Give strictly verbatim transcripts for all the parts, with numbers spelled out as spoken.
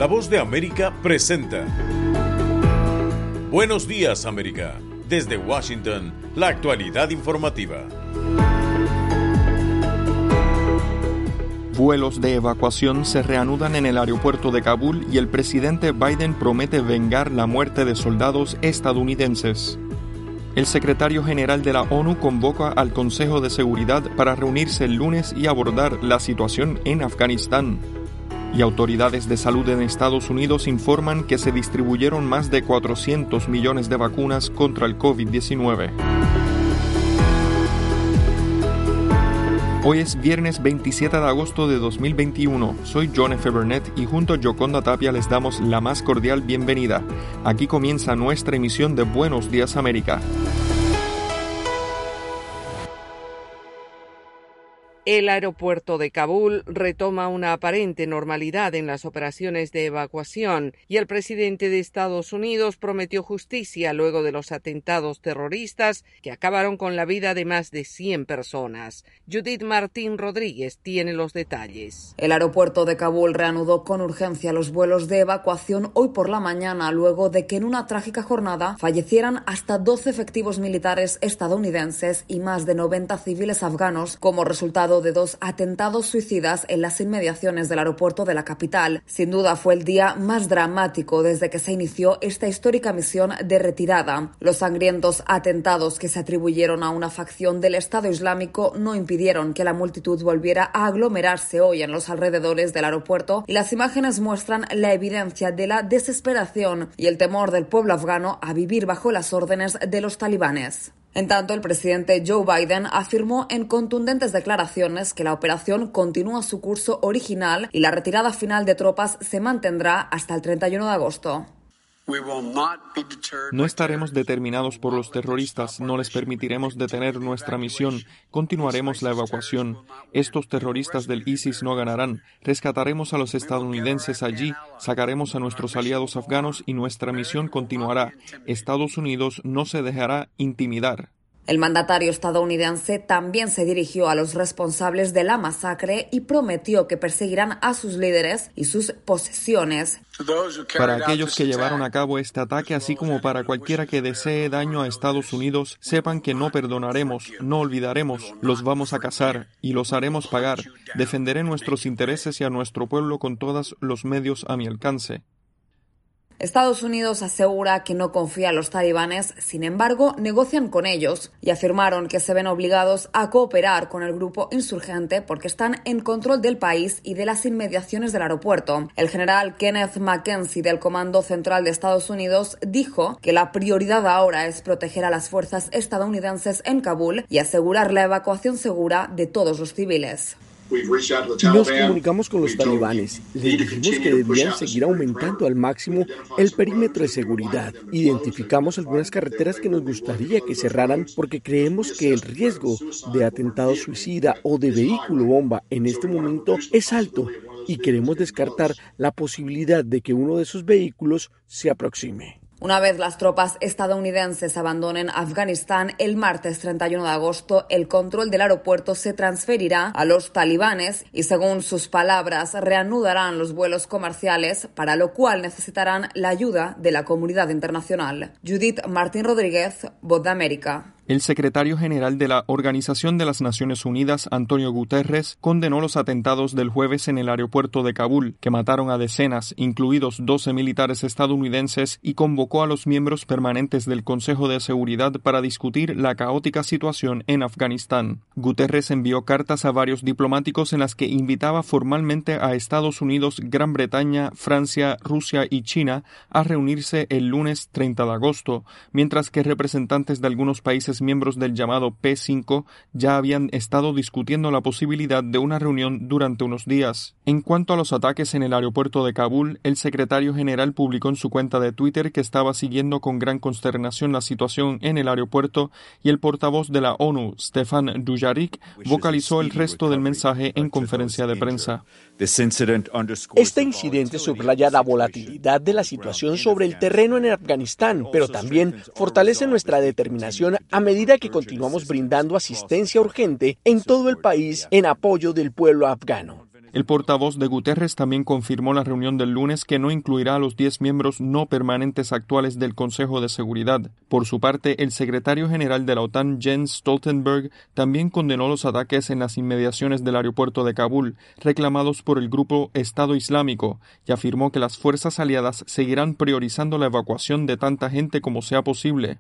La Voz de América presenta Buenos Días, América. Desde Washington, la actualidad informativa. Vuelos de evacuación se reanudan en el aeropuerto de Kabul y el presidente Biden promete vengar la muerte de soldados estadounidenses. El secretario general de la ONU convoca al Consejo de Seguridad para reunirse el lunes y abordar la situación en Afganistán. Y autoridades de salud en Estados Unidos informan que se distribuyeron más de cuatrocientos millones de vacunas contra el covid diecinueve. Hoy es viernes veintisiete de agosto de dos mil veintiuno. Soy John F. Burnett y junto a Yoconda Tapia les damos la más cordial bienvenida. Aquí comienza nuestra emisión de Buenos Días América. El aeropuerto de Kabul retoma una aparente normalidad en las operaciones de evacuación y el presidente de Estados Unidos prometió justicia luego de los atentados terroristas que acabaron con la vida de más de cien personas. Judith Martín Rodríguez tiene los detalles. El aeropuerto de Kabul reanudó con urgencia los vuelos de evacuación hoy por la mañana luego de que en una trágica jornada fallecieran hasta doce efectivos militares estadounidenses y más de noventa civiles afganos como resultado de dos atentados suicidas en las inmediaciones del aeropuerto de la capital. Sin duda fue el día más dramático desde que se inició esta histórica misión de retirada. Los sangrientos atentados que se atribuyeron a una facción del Estado Islámico no impidieron que la multitud volviera a aglomerarse hoy en los alrededores del aeropuerto y las imágenes muestran la evidencia de la desesperación y el temor del pueblo afgano a vivir bajo las órdenes de los talibanes. En tanto, el presidente Joe Biden afirmó en contundentes declaraciones que la operación continúa su curso original y la retirada final de tropas se mantendrá hasta el treinta y uno de agosto. No estaremos determinados por los terroristas, no les permitiremos detener nuestra misión, continuaremos la evacuación. Estos terroristas del ISIS no ganarán, rescataremos a los estadounidenses allí, sacaremos a nuestros aliados afganos y nuestra misión continuará. Estados Unidos no se dejará intimidar. El mandatario estadounidense también se dirigió a los responsables de la masacre y prometió que perseguirán a sus líderes y sus posesiones. Para aquellos que llevaron a cabo este ataque, así como para cualquiera que desee daño a Estados Unidos, sepan que no perdonaremos, no olvidaremos, los vamos a cazar y los haremos pagar. Defenderé nuestros intereses y a nuestro pueblo con todos los medios a mi alcance. Estados Unidos asegura que no confía en los talibanes, sin embargo, negocian con ellos y afirmaron que se ven obligados a cooperar con el grupo insurgente porque están en control del país y de las inmediaciones del aeropuerto. El general Kenneth McKenzie del Comando Central de Estados Unidos dijo que la prioridad ahora es proteger a las fuerzas estadounidenses en Kabul y asegurar la evacuación segura de todos los civiles. Nos comunicamos con los talibanes, les dijimos que debían seguir aumentando al máximo el perímetro de seguridad. Identificamos algunas carreteras que nos gustaría que cerraran porque creemos que el riesgo de atentado suicida o de vehículo bomba en este momento es alto y queremos descartar la posibilidad de que uno de esos vehículos se aproxime. Una vez las tropas estadounidenses abandonen Afganistán el martes treinta y uno de agosto, el control del aeropuerto se transferirá a los talibanes y, según sus palabras, reanudarán los vuelos comerciales, para lo cual necesitarán la ayuda de la comunidad internacional. Judith Martín Rodríguez, Voz de América. El secretario general de la Organización de las Naciones Unidas, Antonio Guterres, condenó los atentados del jueves en el aeropuerto de Kabul, que mataron a decenas, incluidos doce militares estadounidenses, y convocó a los miembros permanentes del Consejo de Seguridad para discutir la caótica situación en Afganistán. Guterres envió cartas a varios diplomáticos en las que invitaba formalmente a Estados Unidos, Gran Bretaña, Francia, Rusia y China a reunirse el lunes treinta de agosto, mientras que representantes de algunos países miembros del llamado P cinco ya habían estado discutiendo la posibilidad de una reunión durante unos días. En cuanto a los ataques en el aeropuerto de Kabul, el secretario general publicó en su cuenta de Twitter que estaba siguiendo con gran consternación la situación en el aeropuerto y el portavoz de la ONU, Stefan Dujarric, vocalizó el resto del mensaje en conferencia de prensa. Este incidente subraya la volatilidad de la situación sobre el terreno en Afganistán, pero también fortalece nuestra determinación a medida que continuamos brindando asistencia urgente en todo el país en apoyo del pueblo afgano. El portavoz de Guterres también confirmó la reunión del lunes que no incluirá a los diez miembros no permanentes actuales del Consejo de Seguridad. Por su parte, el secretario general de la OTAN, Jens Stoltenberg, también condenó los ataques en las inmediaciones del aeropuerto de Kabul, reclamados por el grupo Estado Islámico, y afirmó que las fuerzas aliadas seguirán priorizando la evacuación de tanta gente como sea posible.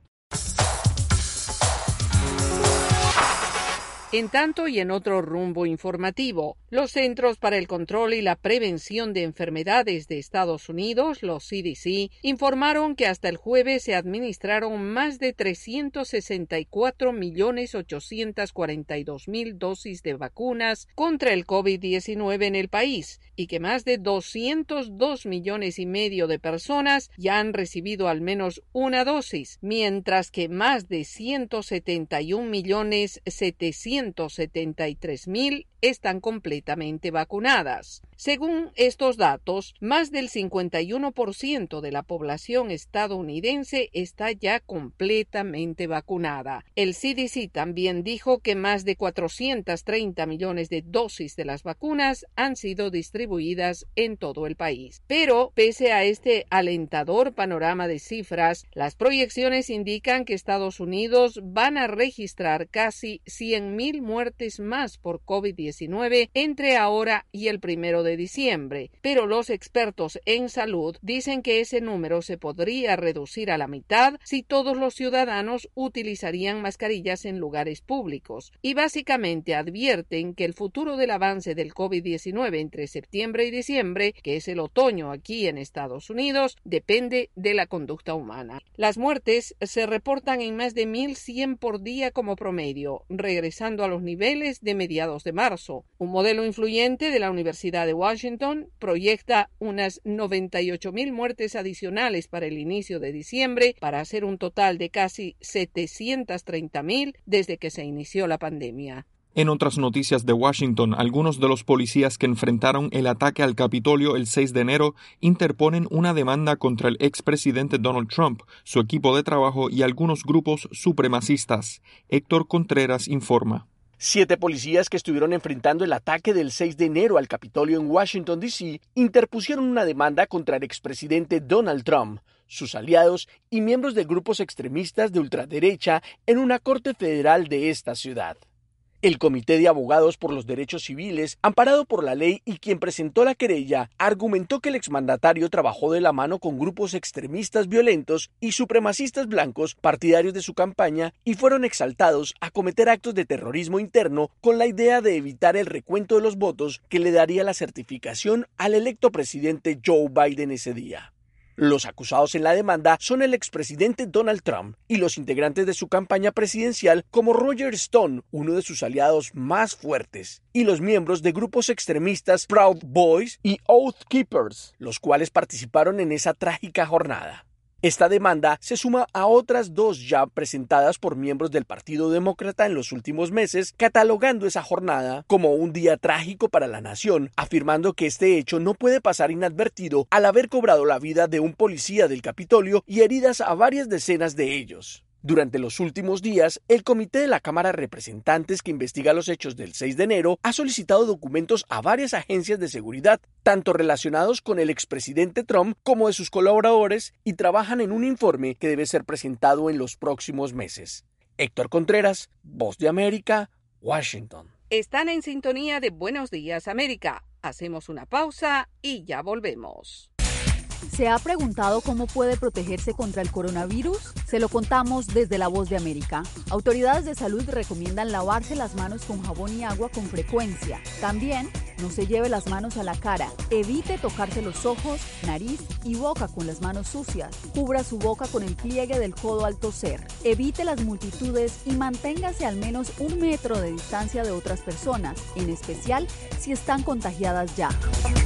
En tanto y en otro rumbo informativo, los Centros para el Control y la Prevención de Enfermedades de Estados Unidos, los C D C, informaron que hasta el jueves se administraron más de trescientos sesenta y cuatro millones ochocientos cuarenta y dos mil dosis de vacunas contra el COVID diecinueve en el país y que más de doscientos dos millones y medio de personas ya han recibido al menos una dosis, mientras que más de ciento setenta y un millones setecientos setenta y tres mil están completamente vacunadas. Según estos datos, más del cincuenta y uno por ciento de la población estadounidense está ya completamente vacunada. El C D C también dijo que más de cuatrocientos treinta millones de dosis de las vacunas han sido distribuidas en todo el país. Pero, pese a este alentador panorama de cifras, las proyecciones indican que Estados Unidos van a registrar casi cien mil muertes más por COVID diecinueve entre ahora y el primero de diciembre, pero los expertos en salud dicen que ese número se podría reducir a la mitad si todos los ciudadanos utilizarían mascarillas en lugares públicos, y básicamente advierten que el futuro del avance del COVID diecinueve entre septiembre y diciembre, que es el otoño aquí en Estados Unidos, depende de la conducta humana. Las muertes se reportan en más de mil cien por día como promedio, regresando a los niveles de mediados de marzo. Un modelo influyente de la Universidad de Washington proyecta unas noventa y ocho mil muertes adicionales para el inicio de diciembre, para hacer un total de casi setecientos treinta mil desde que se inició la pandemia. En otras noticias de Washington, algunos de los policías que enfrentaron el ataque al Capitolio el seis de enero interponen una demanda contra el expresidente Donald Trump, su equipo de trabajo y algunos grupos supremacistas. Héctor Contreras informa. Siete policías que estuvieron enfrentando el ataque del seis de enero al Capitolio en Washington, D C, interpusieron una demanda contra el expresidente Donald Trump, sus aliados y miembros de grupos extremistas de ultraderecha en una corte federal de esta ciudad. El Comité de Abogados por los Derechos Civiles, amparado por la ley y quien presentó la querella, argumentó que el exmandatario trabajó de la mano con grupos extremistas violentos y supremacistas blancos partidarios de su campaña y fueron exaltados a cometer actos de terrorismo interno con la idea de evitar el recuento de los votos que le daría la certificación al electo presidente Joe Biden ese día. Los acusados en la demanda son el expresidente Donald Trump y los integrantes de su campaña presidencial como Roger Stone, uno de sus aliados más fuertes, y los miembros de grupos extremistas Proud Boys y Oath Keepers, los cuales participaron en esa trágica jornada. Esta demanda se suma a otras dos ya presentadas por miembros del Partido Demócrata en los últimos meses, catalogando esa jornada como un día trágico para la nación, afirmando que este hecho no puede pasar inadvertido al haber cobrado la vida de un policía del Capitolio y heridas a varias decenas de ellos. Durante los últimos días, el Comité de la Cámara de Representantes que investiga los hechos del seis de enero ha solicitado documentos a varias agencias de seguridad, tanto relacionados con el expresidente Trump como de sus colaboradores, y trabajan en un informe que debe ser presentado en los próximos meses. Héctor Contreras, Voz de América, Washington. Están en sintonía de Buenos Días América. Hacemos una pausa y ya volvemos. ¿Se ha preguntado cómo puede protegerse contra el coronavirus? Se lo contamos desde La Voz de América. Autoridades de salud recomiendan lavarse las manos con jabón y agua con frecuencia. También, no se lleve las manos a la cara. Evite tocarse los ojos, nariz y boca con las manos sucias. Cubra su boca con el pliegue del codo al toser. Evite las multitudes y manténgase al menos un metro de distancia de otras personas, en especial si están contagiadas ya.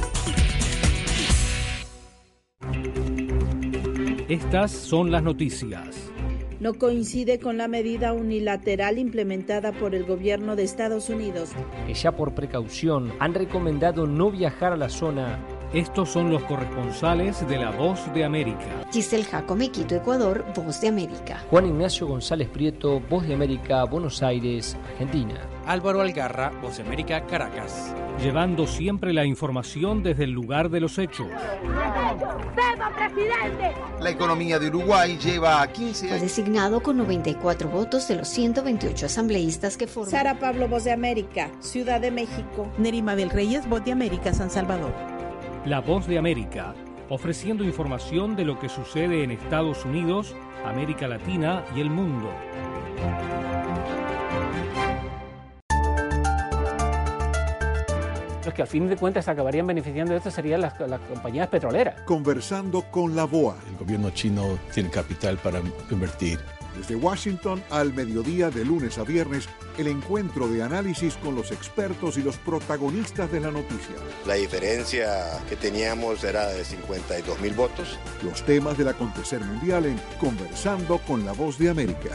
Estas son las noticias. No coincide con la medida unilateral implementada por el gobierno de Estados Unidos, que ya por precaución han recomendado no viajar a la zona Estos son los corresponsales de La Voz de América. Giselle Jacome, Quito, Ecuador, Voz de América. Juan Ignacio González Prieto, Voz de América, Buenos Aires, Argentina. Álvaro Algarra, Voz de América, Caracas. Llevando siempre la información desde el lugar de los hechos. La economía de Uruguay lleva a quince años. Fue designado con noventa y cuatro votos de los ciento veintiocho asambleístas que forman. Sara Pablo, Voz de América, Ciudad de México. Nerima Del Reyes, Voz de América, San Salvador. La Voz de América, ofreciendo información de lo que sucede en Estados Unidos, América Latina y el mundo. Los que al fin de cuentas acabarían beneficiando de esto serían las, las compañías petroleras. Conversando con la B O A. El gobierno chino tiene capital para invertir. Desde Washington al mediodía de lunes a viernes, el encuentro de análisis con los expertos y los protagonistas de la noticia. La diferencia que teníamos era de cincuenta y dos mil votos. Los temas del acontecer mundial en Conversando con la Voz de América.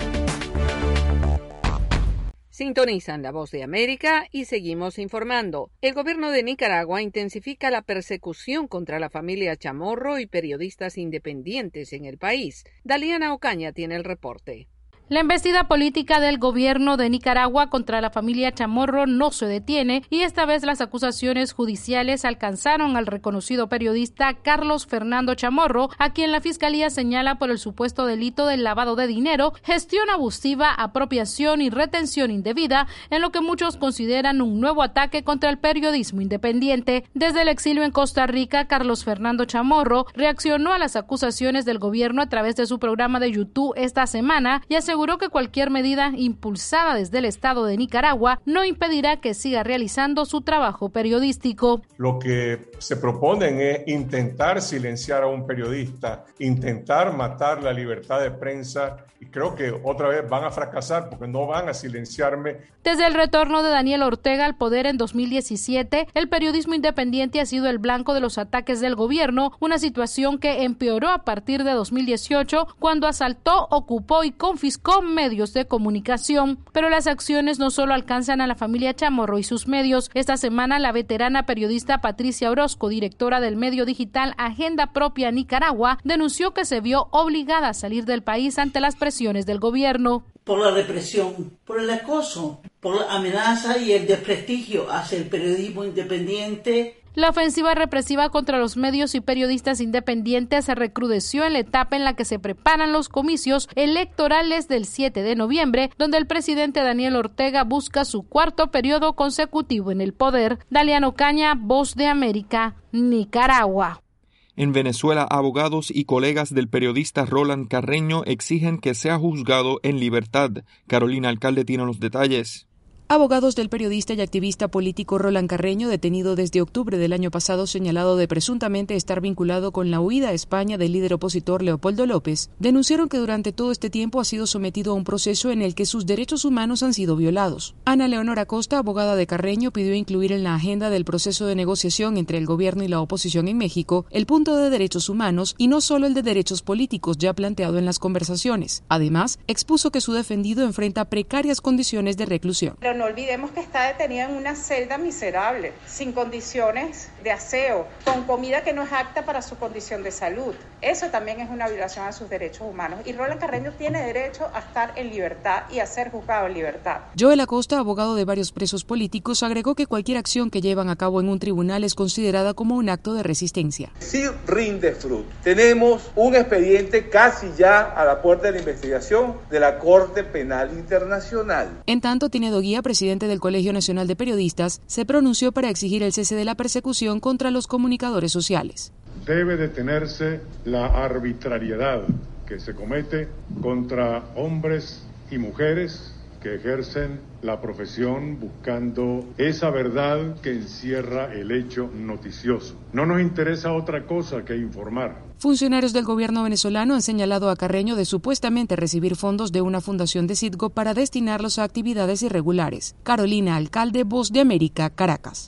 Sintonizan La Voz de América y seguimos informando. El gobierno de Nicaragua intensifica la persecución contra la familia Chamorro y periodistas independientes en el país. Daliana Ocaña tiene el reporte. La embestida política del gobierno de Nicaragua contra la familia Chamorro no se detiene y esta vez las acusaciones judiciales alcanzaron al reconocido periodista Carlos Fernando Chamorro, a quien la fiscalía señala por el supuesto delito del lavado de dinero, gestión abusiva, apropiación y retención indebida, en lo que muchos consideran un nuevo ataque contra el periodismo independiente. Desde el exilio en Costa Rica, Carlos Fernando Chamorro reaccionó a las acusaciones del gobierno a través de su programa de YouTube esta semana y aseguró aseguró que cualquier medida impulsada desde el Estado de Nicaragua no impedirá que siga realizando su trabajo periodístico. Lo que se proponen es intentar silenciar a un periodista, intentar matar la libertad de prensa, y creo que otra vez van a fracasar porque no van a silenciarme. Desde el retorno de Daniel Ortega al poder en dos mil diecisiete, el periodismo independiente ha sido el blanco de los ataques del gobierno, una situación que empeoró a partir de dos mil dieciocho, cuando asaltó, ocupó y confiscó medios de comunicación. Pero las acciones no solo alcanzan a la familia Chamorro y sus medios. Esta semana, la veterana periodista Patricia Orozco, directora del medio digital Agenda Propia Nicaragua, denunció que se vio obligada a salir del país ante las presiones del gobierno. Por la represión, por el acoso, por la amenaza y el desprestigio hacia el periodismo independiente. La ofensiva represiva contra los medios y periodistas independientes se recrudeció en la etapa en la que se preparan los comicios electorales del siete de noviembre, donde el presidente Daniel Ortega busca su cuarto periodo consecutivo en el poder. Daliana Ocaña, Voz de América, Nicaragua. En Venezuela, abogados y colegas del periodista Roland Carreño exigen que sea juzgado en libertad. Carolina Alcalde tiene los detalles. Abogados del periodista y activista político Roland Carreño, detenido desde octubre del año pasado señalado de presuntamente estar vinculado con la huida a España del líder opositor Leopoldo López, denunciaron que durante todo este tiempo ha sido sometido a un proceso en el que sus derechos humanos han sido violados. Ana Leonora Costa, abogada de Carreño, pidió incluir en la agenda del proceso de negociación entre el gobierno y la oposición en México el punto de derechos humanos y no solo el de derechos políticos ya planteado en las conversaciones. Además, expuso que su defendido enfrenta precarias condiciones de reclusión. No olvidemos que está detenido en una celda miserable, sin condiciones de aseo, con comida que no es apta para su condición de salud. Eso también es una violación a sus derechos humanos. Y Roland Carreño tiene derecho a estar en libertad y a ser juzgado en libertad. Joel Acosta, abogado de varios presos políticos, agregó que cualquier acción que llevan a cabo en un tribunal es considerada como un acto de resistencia. Sí rinde fruto. Tenemos un expediente casi ya a la puerta de la investigación de la Corte Penal Internacional. En tanto, Tinedo Guía, presidente del Colegio Nacional de Periodistas, se pronunció para exigir el cese de la persecución contra los comunicadores sociales. Debe detenerse la arbitrariedad que se comete contra hombres y mujeres que ejercen la profesión buscando esa verdad que encierra el hecho noticioso. No nos interesa otra cosa que informar. Funcionarios del gobierno venezolano han señalado a Carreño de supuestamente recibir fondos de una fundación de Citgo para destinarlos a actividades irregulares. Carolina Alcalde, Voz de América, Caracas.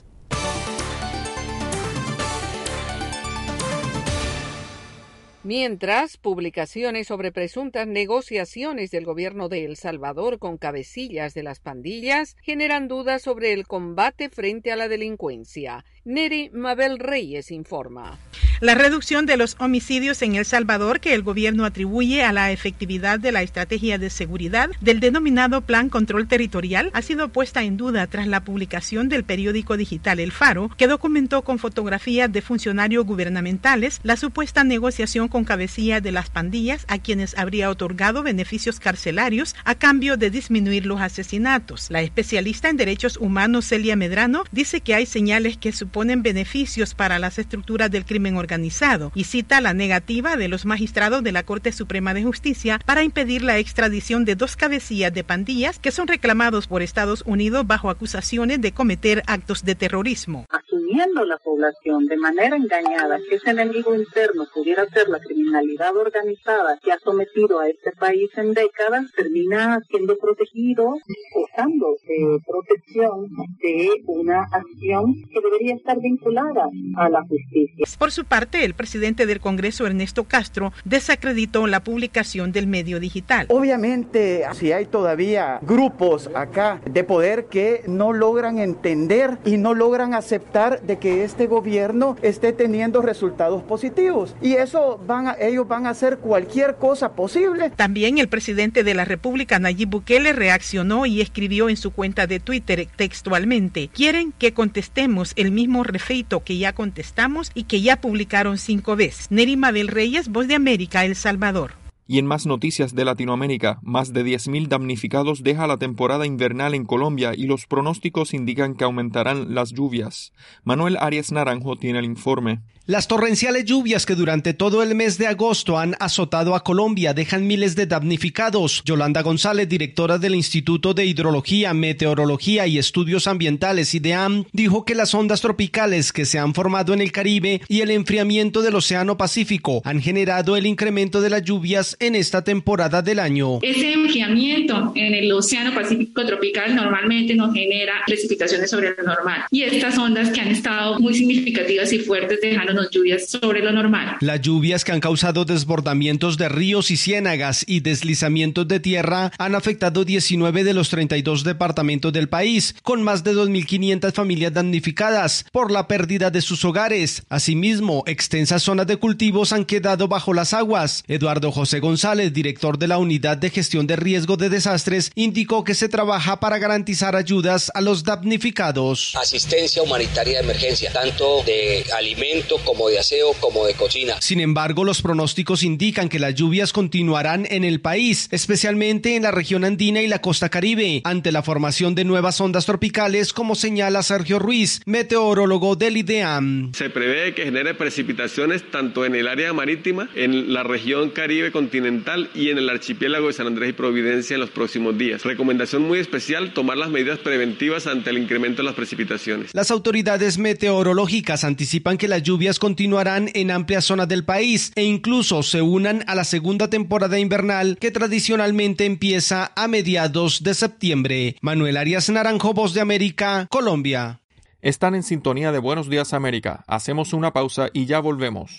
Mientras, publicaciones sobre presuntas negociaciones del gobierno de El Salvador con cabecillas de las pandillas generan dudas sobre el combate frente a la delincuencia. Neri Mabel Reyes informa. La reducción de los homicidios en El Salvador, que el gobierno atribuye a la efectividad de la estrategia de seguridad del denominado Plan Control Territorial, ha sido puesta en duda tras la publicación del periódico digital El Faro, que documentó con fotografías de funcionarios gubernamentales la supuesta negociación con cabecillas de las pandillas a quienes habría otorgado beneficios carcelarios a cambio de disminuir los asesinatos. La especialista en derechos humanos Celia Medrano dice que hay señales que suponen beneficios para las estructuras del crimen organizado organizado y cita la negativa de los magistrados de la Corte Suprema de Justicia para impedir la extradición de dos cabecillas de pandillas que son reclamados por Estados Unidos bajo acusaciones de cometer actos de terrorismo. Asumiendo la población de manera engañada que ese enemigo interno pudiera ser la criminalidad organizada que ha sometido a este país en décadas, termina siendo protegido, gozando de protección de una acción que debería estar vinculada a la justicia. Por su parte, el presidente del Congreso, Ernesto Castro, desacreditó la publicación del medio digital. Obviamente, si hay todavía grupos acá de poder que no logran entender y no logran aceptar de que este gobierno esté teniendo resultados positivos. Y eso van a, ellos van a hacer cualquier cosa posible. También el presidente de la República, Nayib Bukele, reaccionó y escribió en su cuenta de Twitter textualmente: quieren que contestemos el mismo refeito que ya contestamos y que ya publicaron cinco veces. Neri Mabel Reyes, Voz de América, El Salvador. Y en más noticias de Latinoamérica, más de diez mil damnificados deja la temporada invernal en Colombia y los pronósticos indican que aumentarán las lluvias. Manuel Arias Naranjo tiene el informe. Las torrenciales lluvias que durante todo el mes de agosto han azotado a Colombia dejan miles de damnificados. Yolanda González, directora del Instituto de Hidrología, Meteorología y Estudios Ambientales IDEAM, dijo que las ondas tropicales que se han formado en el Caribe y el enfriamiento del Océano Pacífico han generado el incremento de las lluvias en esta temporada del año. Ese enfriamiento en el Océano Pacífico tropical normalmente nos genera precipitaciones sobre lo normal, y estas ondas que han estado muy significativas y fuertes dejaron lluvias sobre lo normal. Las lluvias que han causado desbordamientos de ríos y ciénagas y deslizamientos de tierra han afectado diecinueve de los treinta y dos departamentos del país, con más de dos mil quinientas familias damnificadas por la pérdida de sus hogares. Asimismo, extensas zonas de cultivos han quedado bajo las aguas. Eduardo José González, director de la Unidad de Gestión de Riesgo de Desastres, indicó que se trabaja para garantizar ayudas a los damnificados. Asistencia humanitaria de emergencia, tanto de alimentos como de aseo, como de cocina. Sin embargo, los pronósticos indican que las lluvias continuarán en el país, especialmente en la región andina y la costa caribe, ante la formación de nuevas ondas tropicales, como señala Sergio Ruiz, meteorólogo del IDEAM. Se prevé que genere precipitaciones tanto en el área marítima, en la región caribe continental y en el archipiélago de San Andrés y Providencia en los próximos días. Recomendación muy especial: tomar las medidas preventivas ante el incremento de las precipitaciones. Las autoridades meteorológicas anticipan que las lluvias continuarán en amplias zonas del país e incluso se unan a la segunda temporada invernal que tradicionalmente empieza a mediados de septiembre. Manuel Arias Naranjo, Voz de América, Colombia. Están en sintonía de Buenos Días América. Hacemos una pausa y ya volvemos.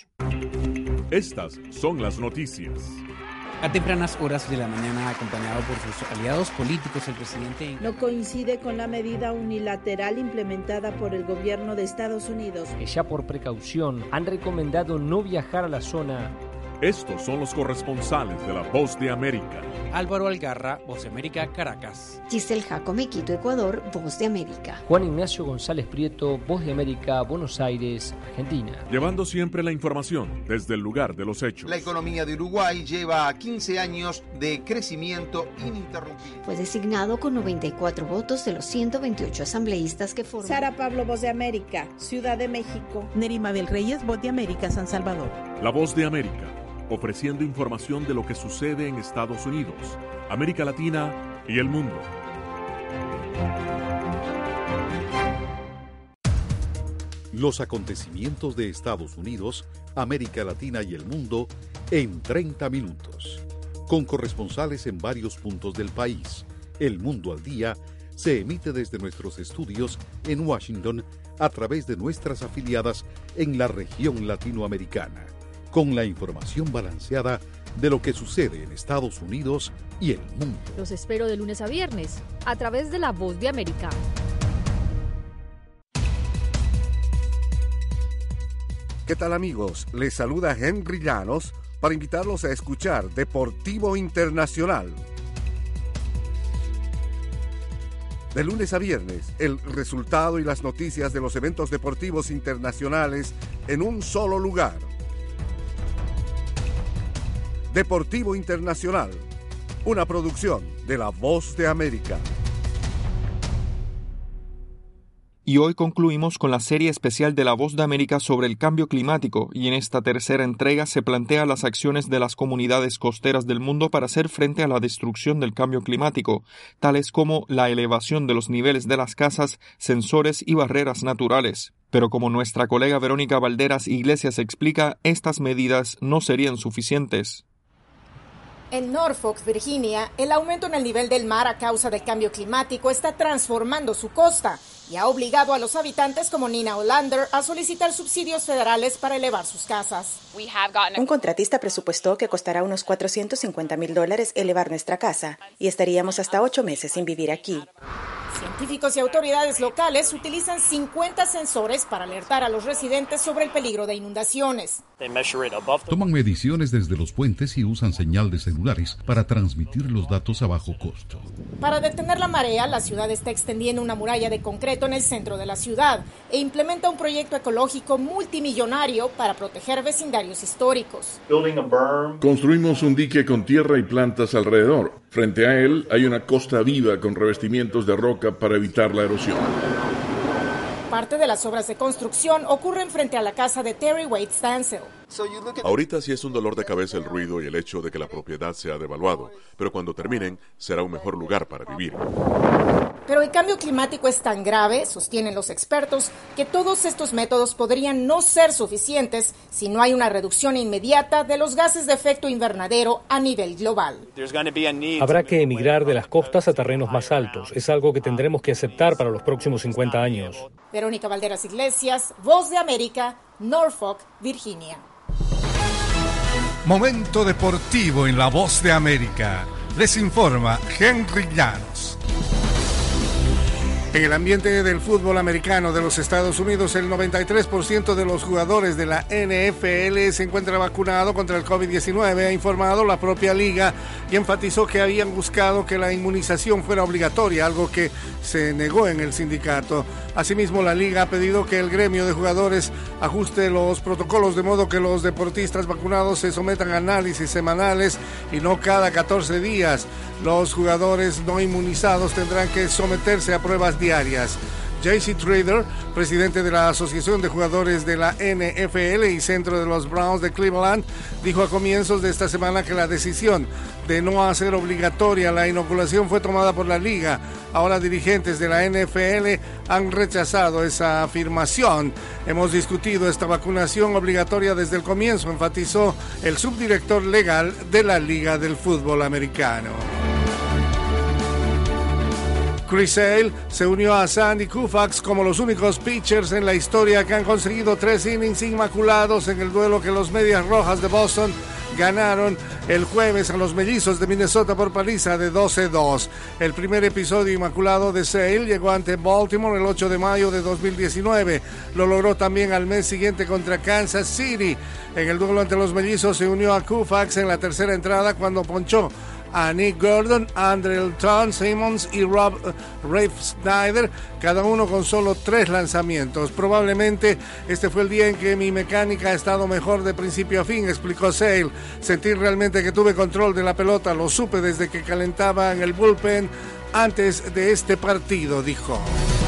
Estas son las noticias. A tempranas horas de la mañana, acompañado por sus aliados políticos, el presidente... No coincide con la medida unilateral implementada por el gobierno de Estados Unidos. Ya por precaución han recomendado no viajar a la zona. Estos son los corresponsales de La Voz de América. Álvaro Algarra, Voz de América, Caracas. Giselle Jacome, Quito, Ecuador, Voz de América. Juan Ignacio González Prieto, Voz de América, Buenos Aires, Argentina. Llevando siempre la información desde el lugar de los hechos. La economía de Uruguay lleva quince años de crecimiento ininterrumpido. Fue designado con noventa y cuatro votos de los ciento veintiocho asambleístas que forman. Sara Pablo, Voz de América, Ciudad de México. Neri Mabel Reyes, Voz de América, San Salvador. La Voz de América, ofreciendo información de lo que sucede en Estados Unidos, América Latina y el mundo. Los acontecimientos de Estados Unidos, América Latina y el mundo en treinta minutos. Con corresponsales en varios puntos del país. El Mundo al Día se emite desde nuestros estudios en Washington a través de nuestras afiliadas en la región latinoamericana. con la información balanceada de lo que sucede en Estados Unidos y el mundo. Los espero de lunes a viernes a través de La Voz de América. ¿Qué tal, amigos? Les saluda Henry Llanos para invitarlos a escuchar Deportivo Internacional. De lunes a viernes, el resultado y las noticias de los eventos deportivos internacionales en un solo lugar. Deportivo Internacional, una producción de La Voz de América. Y hoy concluimos con la serie especial de La Voz de América sobre el cambio climático, y en esta tercera entrega se plantea las acciones de las comunidades costeras del mundo para hacer frente a la destrucción del cambio climático, tales como la elevación de los niveles de las casas, sensores y barreras naturales. Pero como nuestra colega Verónica Valderas Iglesias explica, estas medidas no serían suficientes. En Norfolk, Virginia, el aumento en el nivel del mar a causa del cambio climático está transformando su costa y ha obligado a los habitantes como Nina Olander a solicitar subsidios federales para elevar sus casas. Un contratista presupuestó que costará unos cuatrocientos cincuenta mil dólares elevar nuestra casa y estaríamos hasta ocho meses sin vivir aquí. Científicos y autoridades locales utilizan cincuenta sensores para alertar a los residentes sobre el peligro de inundaciones. Toman mediciones desde los puentes y usan señal de celulares para transmitir los datos a bajo costo. Para detener la marea, la ciudad está extendiendo una muralla de concreto en el centro de la ciudad e implementa un proyecto ecológico multimillonario para proteger vecindarios históricos. Construimos un dique con tierra y plantas alrededor. Frente a él hay una costa viva con revestimientos de roca para evitar la erosión. Parte de las obras de construcción ocurren frente a la casa de Terry Wade Stansel. Ahorita sí es un dolor de cabeza el ruido y el hecho de que la propiedad se ha devaluado, pero cuando terminen será un mejor lugar para vivir. Pero el cambio climático es tan grave, sostienen los expertos, que todos estos métodos podrían no ser suficientes si no hay una reducción inmediata de los gases de efecto invernadero a nivel global. Habrá que emigrar de las costas a terrenos más altos. Es algo que tendremos que aceptar para los próximos cincuenta años. Verónica Valderas Iglesias, Voz de América, Norfolk, Virginia. Momento deportivo en La Voz de América. Les informa Henry Llanos. En el ambiente del fútbol americano de los Estados Unidos, el noventa y tres por ciento de los jugadores de la N F L se encuentra vacunado contra el COVID diecinueve, ha informado la propia liga, y enfatizó que habían buscado que la inmunización fuera obligatoria, algo que se negó en el sindicato. Asimismo, la liga ha pedido que el gremio de jugadores ajuste los protocolos de modo que los deportistas vacunados se sometan a análisis semanales y no cada catorce días. Los jugadores no inmunizados tendrán que someterse a pruebas diarias. J C Trader, presidente de la Asociación de Jugadores de la N F L y centro de los Browns de Cleveland, dijo a comienzos de esta semana que la decisión de no hacer obligatoria la inoculación fue tomada por la liga. Ahora dirigentes de la N F L han rechazado esa afirmación. Hemos discutido esta vacunación obligatoria desde el comienzo, enfatizó el subdirector legal de la Liga del Fútbol Americano. Chris Sale se unió a Sandy Koufax como los únicos pitchers en la historia que han conseguido tres innings inmaculados en el duelo que los Medias Rojas de Boston ganaron el jueves a los Mellizos de Minnesota por paliza de doce a dos. El primer episodio inmaculado de Sale llegó ante Baltimore el ocho de mayo de dos mil diecinueve. Lo logró también al mes siguiente contra Kansas City. En el duelo ante los Mellizos se unió a Koufax en la tercera entrada cuando ponchó a Nick Gordon, Andrelton Simmons y Rob Rafe Snyder, cada uno con solo tres lanzamientos. Probablemente este fue el día en que mi mecánica ha estado mejor de principio a fin, explicó Sale. Sentí realmente que tuve control de la pelota, lo supe desde que calentaba en el bullpen antes de este partido, dijo.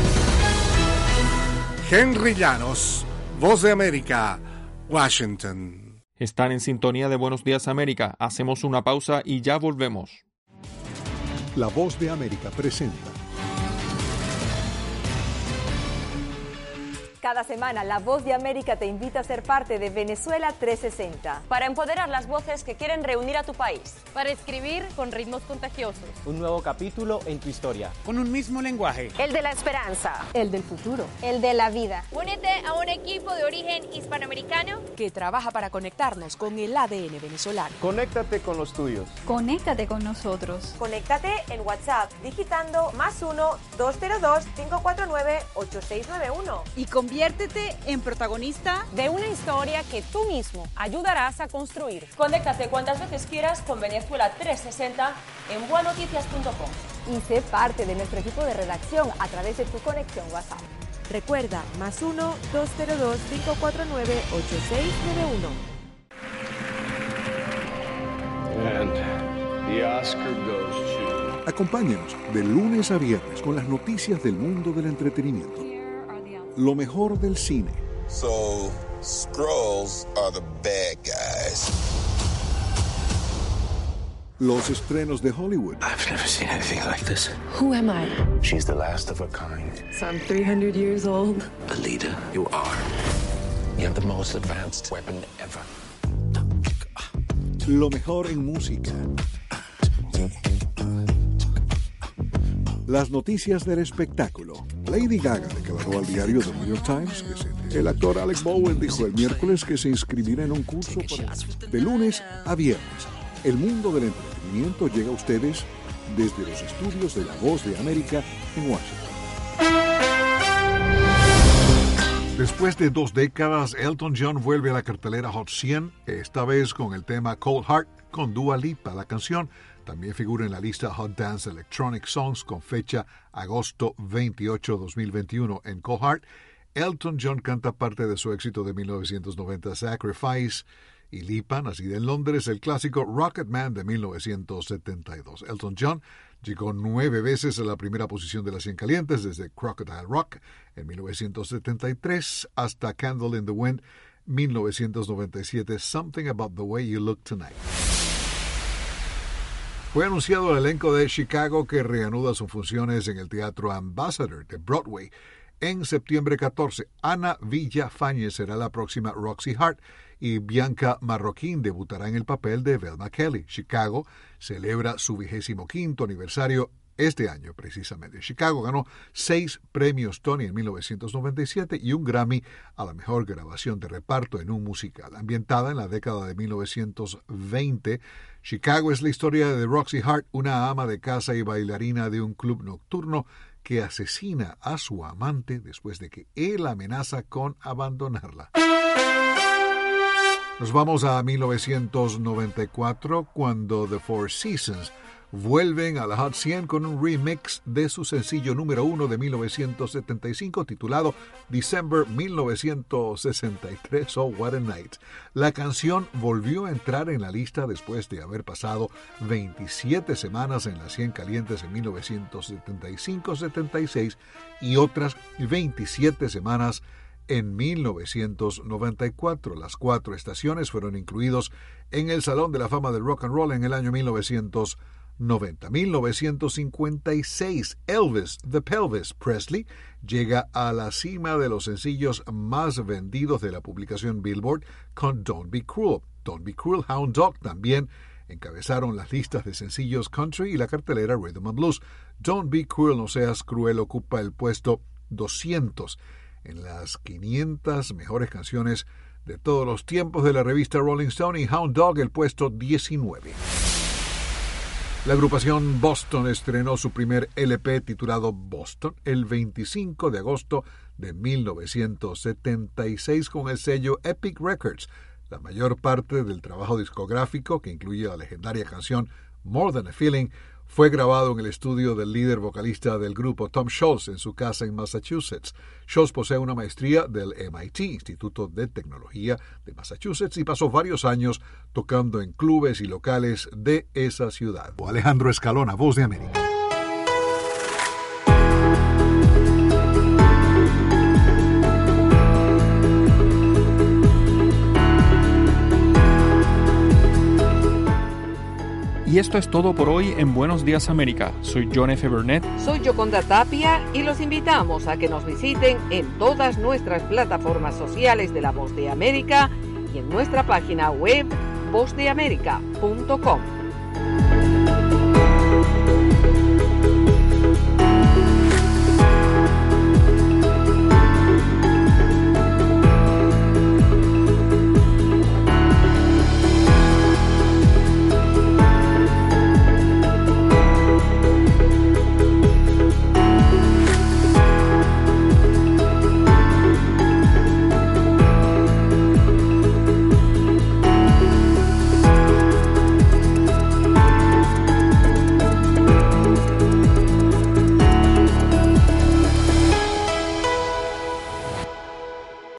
Henry Llanos, Voz de América, Washington. Están en sintonía de Buenos Días América. Hacemos una pausa y ya volvemos. La Voz de América presenta Cada semana, La Voz de América te invita a ser parte de Venezuela trescientos sesenta. Para empoderar las voces que quieren reunir a tu país. Para escribir con ritmos contagiosos. Un nuevo capítulo en tu historia. Con un mismo lenguaje. El de la esperanza. El del futuro. El de la vida. Únete a un equipo de origen hispanoamericano que trabaja para conectarnos con el A D N venezolano. Conéctate con los tuyos. Conéctate con nosotros. Conéctate en WhatsApp digitando más uno, dos cero dos, cinco cuatro nueve, ocho seis nueve uno. Y conviértete en protagonista de una historia que tú mismo ayudarás a construir. Conéctate cuantas veces quieras con Venezuela trescientos sesenta en bua noticias punto com. Y sé parte de nuestro equipo de redacción a través de tu conexión WhatsApp. Recuerda, más uno, dos cero dos, cinco cuatro nueve, ocho seis nueve uno. And the Oscar goes to... Acompáñanos de lunes a viernes con las noticias del mundo del entretenimiento. Lo mejor del cine. So, Skrulls are the bad guys. Los estrenos de Hollywood. I've never seen anything like this. Who am I? She's the last of her kind. So I'm three hundred years old. The leader you are. You have the most advanced weapon ever. Lo mejor en música. Las noticias del espectáculo. Lady Gaga declaró al diario The New York Times que se... El actor Alec Bowen dijo el miércoles que se inscribirá en un curso para... de lunes a viernes. El mundo del entretenimiento llega a ustedes desde los estudios de La Voz de América en Washington. Después de dos décadas, Elton John vuelve a la cartelera Hot cien, esta vez con el tema Cold Heart con Dua Lipa. La canción también figura en la lista Hot Dance Electronic Songs con fecha agosto veintiocho, dos mil veintiuno. En Cold Heart, Elton John canta parte de su éxito de mil novecientos noventa, Sacrifice, y Lipa, nacida en Londres, el clásico Rocket Man de mil novecientos setenta y dos. Elton John llegó nueve veces a la primera posición de las cien calientes, desde Crocodile Rock en mil novecientos setenta y tres hasta Candle in the Wind mil novecientos noventa y siete, Something About the Way You Look Tonight. Fue anunciado el elenco de Chicago que reanuda sus funciones en el Teatro Ambassador de Broadway. En septiembre catorce, Ana Villafañez será la próxima Roxy Hart y Bianca Marroquín debutará en el papel de Velma Kelly. Chicago celebra su vigésimo quinto aniversario este año precisamente. Chicago ganó seis premios Tony en mil novecientos noventa y siete y un Grammy a la mejor grabación de reparto en un musical. Ambientada en la década de mil novecientos veinte, Chicago es la historia de Roxy Hart, una ama de casa y bailarina de un club nocturno que asesina a su amante después de que él amenaza con abandonarla. Nos vamos a mil novecientos noventa y cuatro, cuando The Four Seasons vuelven a la Hot cien con un remix de su sencillo número uno de mil novecientos setenta y cinco titulado December mil novecientos sesenta y tres, Oh What a Night. La canción volvió a entrar en la lista después de haber pasado veintisiete semanas en las cien calientes en mil novecientos setenta y cinco setenta y seis y otras veintisiete semanas en mil novecientos noventa y cuatro. Las cuatro estaciones fueron incluidos en el Salón de la Fama del Rock and Roll en el año mil novecientos noventa. mil novecientos cincuenta y seis, Elvis The Pelvis Presley llega a la cima de los sencillos más vendidos de la publicación Billboard con Don't Be Cruel. Don't Be Cruel, Hound Dog también encabezaron las listas de sencillos country y la cartelera Rhythm and Blues. Don't Be Cruel, no seas cruel, ocupa el puesto doscientos en las quinientas mejores canciones de todos los tiempos de la revista Rolling Stone, y Hound Dog el puesto diecinueve. La agrupación Boston estrenó su primer L P titulado Boston el veinticinco de agosto de mil novecientos setenta y seis con el sello Epic Records. La mayor parte del trabajo discográfico, que incluye la legendaria canción More Than a Feeling, fue grabado en el estudio del líder vocalista del grupo Tom Scholz en su casa en Massachusetts. Scholz posee una maestría del M I T, Instituto de Tecnología de Massachusetts, y pasó varios años tocando en clubes y locales de esa ciudad. Alejandro Escalona, Voz de América. Y esto es todo por hoy en Buenos Días América. Soy John F. Burnett. Soy Yoconda Tapia y los invitamos a que nos visiten en todas nuestras plataformas sociales de La Voz de América y en nuestra página web voz de américa punto com.